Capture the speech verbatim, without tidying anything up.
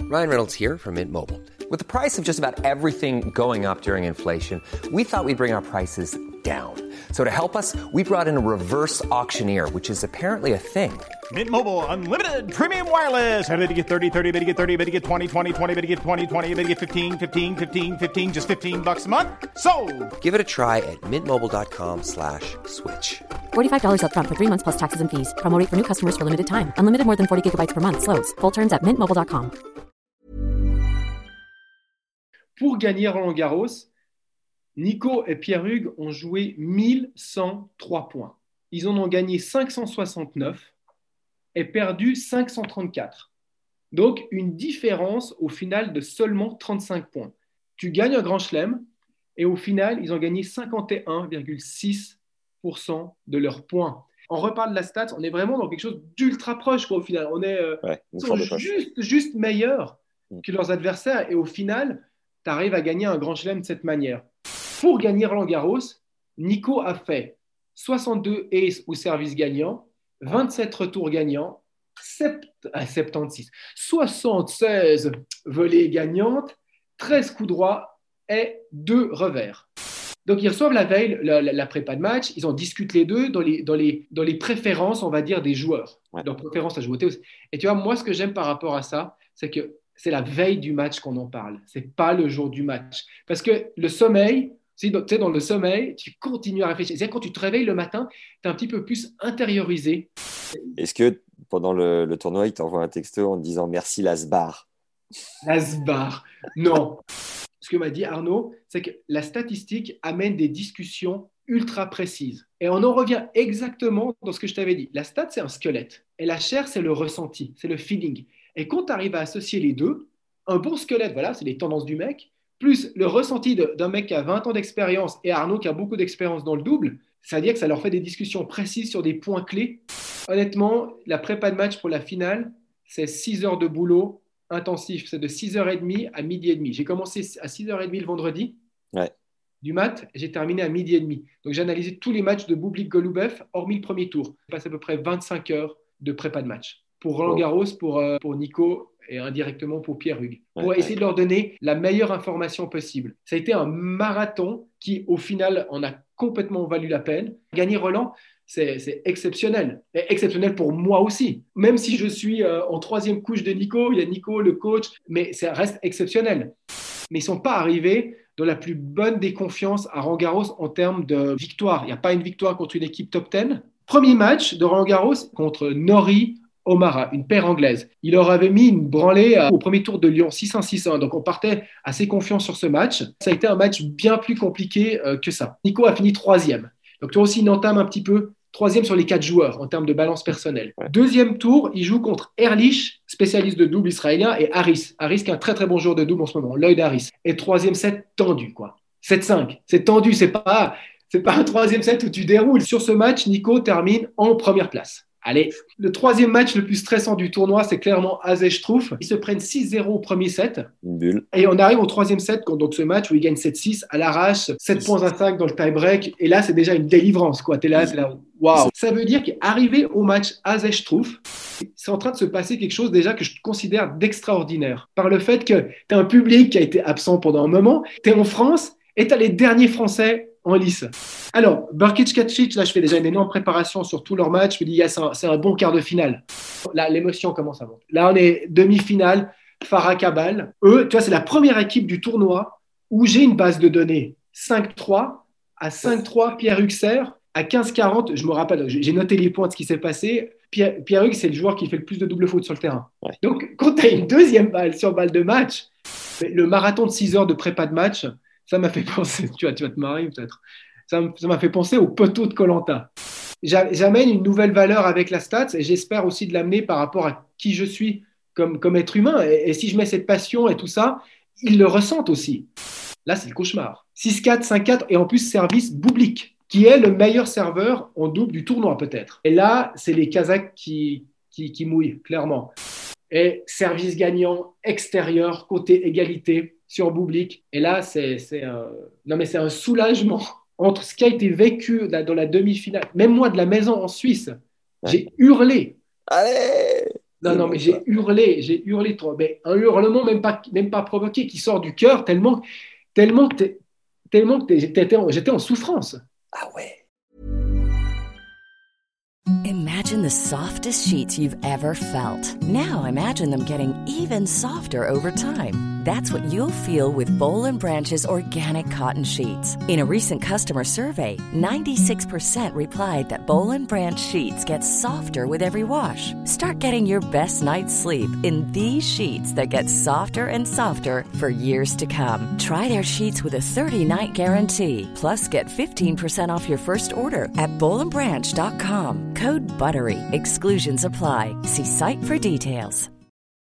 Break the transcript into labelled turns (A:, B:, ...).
A: Ryan Reynolds here from Mint Mobile. With the price of just about everything going up during inflation, we thought we'd bring our prices down. So to help us, we brought in a reverse auctioneer, which is apparently a thing.
B: Mint Mobile Unlimited Premium Wireless. How to get thirty, thirty, how to get thirty, how to get twenty, twenty, twenty, how to get twenty, twenty, how to get fifteen, fifteen, fifteen, fifteen, just fifteen bucks a month? Sold!
A: Give it a try at mintmobile.com slash switch.
C: forty-five dollars up front for three months plus taxes and fees. Promo rate for new customers for limited time. Unlimited more than forty gigabytes per month. Slows full terms at mint mobile dot com.
D: Pour gagner Roland-Garros, Nico et Pierre-Hugues ont joué mille cent trois points. Ils en ont gagné cinq cent soixante-neuf et perdu cinq cent trente-quatre. Donc, une différence au final de seulement trente-cinq points. Tu gagnes un grand chelem et au final, ils ont gagné cinquante et un virgule six pour cent de leurs points. On reparle de la stats, on est vraiment dans quelque chose d'ultra proche quoi, au final. On est euh,
E: Ouais, une
D: ils
E: sorte
D: sont
E: de poche.
D: juste, juste meilleurs
E: Mm.
D: que leurs adversaires et au final, tu arrives à gagner un grand chelem de cette manière. Pour gagner Roland-Garros, Nico a fait soixante-deux aces au service gagnant, vingt-sept retours gagnants, sept, ah, soixante-seize, soixante-seize volées gagnantes, treize coups droits et deux revers. Donc, ils reçoivent la veille la, la, la prépa de match, ils en discutent les deux dans les, dans les, dans les préférences, on va dire, des joueurs.
E: Ouais.
D: Leur préférence à jouer au tennis. Et tu vois, moi, ce que j'aime par rapport à ça, c'est que c'est la veille du match qu'on en parle. C'est pas le jour du match. Parce que le sommeil, tu sais, dans le sommeil, tu continues à réfléchir. C'est-à-dire quand tu te réveilles le matin, tu es un petit peu plus intériorisé.
E: Est-ce que pendant le, le tournoi, il t'envoie un texto en te disant merci Lasbar?
D: Asbar. Non. Ce que m'a dit Arnaud, c'est que la statistique amène des discussions ultra précises. Et on en revient exactement dans ce que je t'avais dit. La stat, c'est un squelette. Et la chair, c'est le ressenti, c'est le feeling. Et quand tu arrives à associer les deux, un bon squelette, voilà, c'est les tendances du mec, plus le ressenti de, d'un mec qui a vingt ans d'expérience et Arnaud qui a beaucoup d'expérience dans le double, c'est-à-dire que ça leur fait des discussions précises sur des points clés. Honnêtement, la prépa de match pour la finale, c'est six heures de boulot intensif. C'est de six heures trente à midi et demi. J'ai commencé à six heures trente le vendredi
E: Ouais.
D: du mat, et j'ai terminé à midi et demi. Donc j'ai analysé tous les matchs de Bublik-Golubev, hormis le premier tour. J'ai passé à peu près vingt-cinq heures de prépa de match. Pour Roland Garros, pour, euh, pour Nico et indirectement pour Pierre-Hugues. Pour
E: Ouais,
D: essayer de leur donner la meilleure information possible. Ça a été un marathon qui, au final, en a complètement valu la peine. Gagner Roland, c'est, c'est exceptionnel. Et exceptionnel pour moi aussi. Même si je suis euh, en troisième couche de Nico, il y a Nico, le coach, mais ça reste exceptionnel. Mais ils ne sont pas arrivés dans la plus bonne des confiances à Roland Garros en termes de victoire. Il n'y a pas une victoire contre une équipe top dix. Premier match de Roland Garros contre Norrie O'Mara, une paire anglaise. Il leur avait mis une branlée au premier tour de Lyon, six un six un. Donc on partait assez confiant sur ce match. Ça a été un match bien plus compliqué euh, que ça. Nico a fini troisième. Donc toi aussi, il entame un petit peu troisième sur les quatre joueurs en termes de balance personnelle.
E: Ouais.
D: Deuxième tour, il joue contre Ehrlich, spécialiste de double israélien, et Harris. Harris qui est un très très bon joueur de double en ce moment, Lloyd Harris. Et troisième set tendu, quoi. sept cinq. C'est tendu, c'est pas, c'est pas un troisième set où tu déroules. Sur ce match, Nico termine en première place. Allez, le troisième match le plus stressant du tournoi, c'est clairement Azej-Struff. Ils se prennent six zéro au premier set.
E: Une bulle.
D: Et on arrive au troisième set, donc ce match où ils gagnent sept six à l'arrache, sept virgule cinq dans le tie-break. Et là, c'est déjà une délivrance, quoi. T'es là, t'es là, waouh. Ça veut dire qu'arrivé au match Azej-Struff, c'est en train de se passer quelque chose déjà que je considère d'extraordinaire. Par le fait que t'as un public qui a été absent pendant un moment, t'es en France et t'as les derniers Français en lice. Alors, Brkic-Kacic, là, je fais déjà une énorme préparation sur tous leurs matchs. Je me dis, yes, c'est, un, c'est un bon quart de finale. Là, l'émotion commence à monter. Là, on est demi-finale, Farah Cabal. Eux, tu vois, c'est la première équipe du tournoi où j'ai une base de données cinq trois. À cinq trois, Pierre-Hugues sert. À quinze quarante, je me rappelle, j'ai noté les points de ce qui s'est passé. Pierre, Pierre-Hugues, c'est le joueur qui fait le plus de double faute sur le terrain.
E: Ouais.
D: Donc, quand tu as une deuxième balle sur balle de match, le marathon de six heures de prépa de match, ça m'a fait penser, tu vas, tu vas te marier peut-être, ça m'a fait penser au poteau de koh J'amène une nouvelle valeur avec la stats et j'espère aussi de l'amener par rapport à qui je suis comme, comme être humain. Et, et si je mets cette passion et tout ça, ils le ressentent aussi. Là, c'est le cauchemar. six quatre, cinq quatre et en plus service Bublik, qui est le meilleur serveur en double du tournoi peut-être. Et là, c'est les Kazakhs qui, qui, qui mouillent, clairement. Et service gagnant extérieur, côté égalité sur Bublik. Et là, c'est, c'est, un... non, mais c'est un soulagement entre ce qui a été vécu dans la demi-finale. Même moi, de la maison en Suisse,
E: Ouais.
D: j'ai hurlé.
E: Allez!
D: Non, non, mais j'ai hurlé, j'ai hurlé trop. Mais un hurlement même pas, même pas provoqué, qui sort du cœur tellement, tellement, que t'es- tellement que t'es- j'étais en, j'étais en souffrance.
E: Ah ouais.
F: Imagine the softest sheets you've ever felt. Now imagine them getting even softer over time. That's what you'll feel with Boll and Branch's organic cotton sheets. In a recent customer survey, ninety-six percent replied that Boll and Branch sheets get softer with every wash. Start getting your best night's sleep in these sheets that get softer and softer for years to come. Try their sheets with a thirty-night guarantee. Plus, get fifteen percent off your first order at boll and branch dot com. Code BUTTERY. Exclusions apply. See site for details.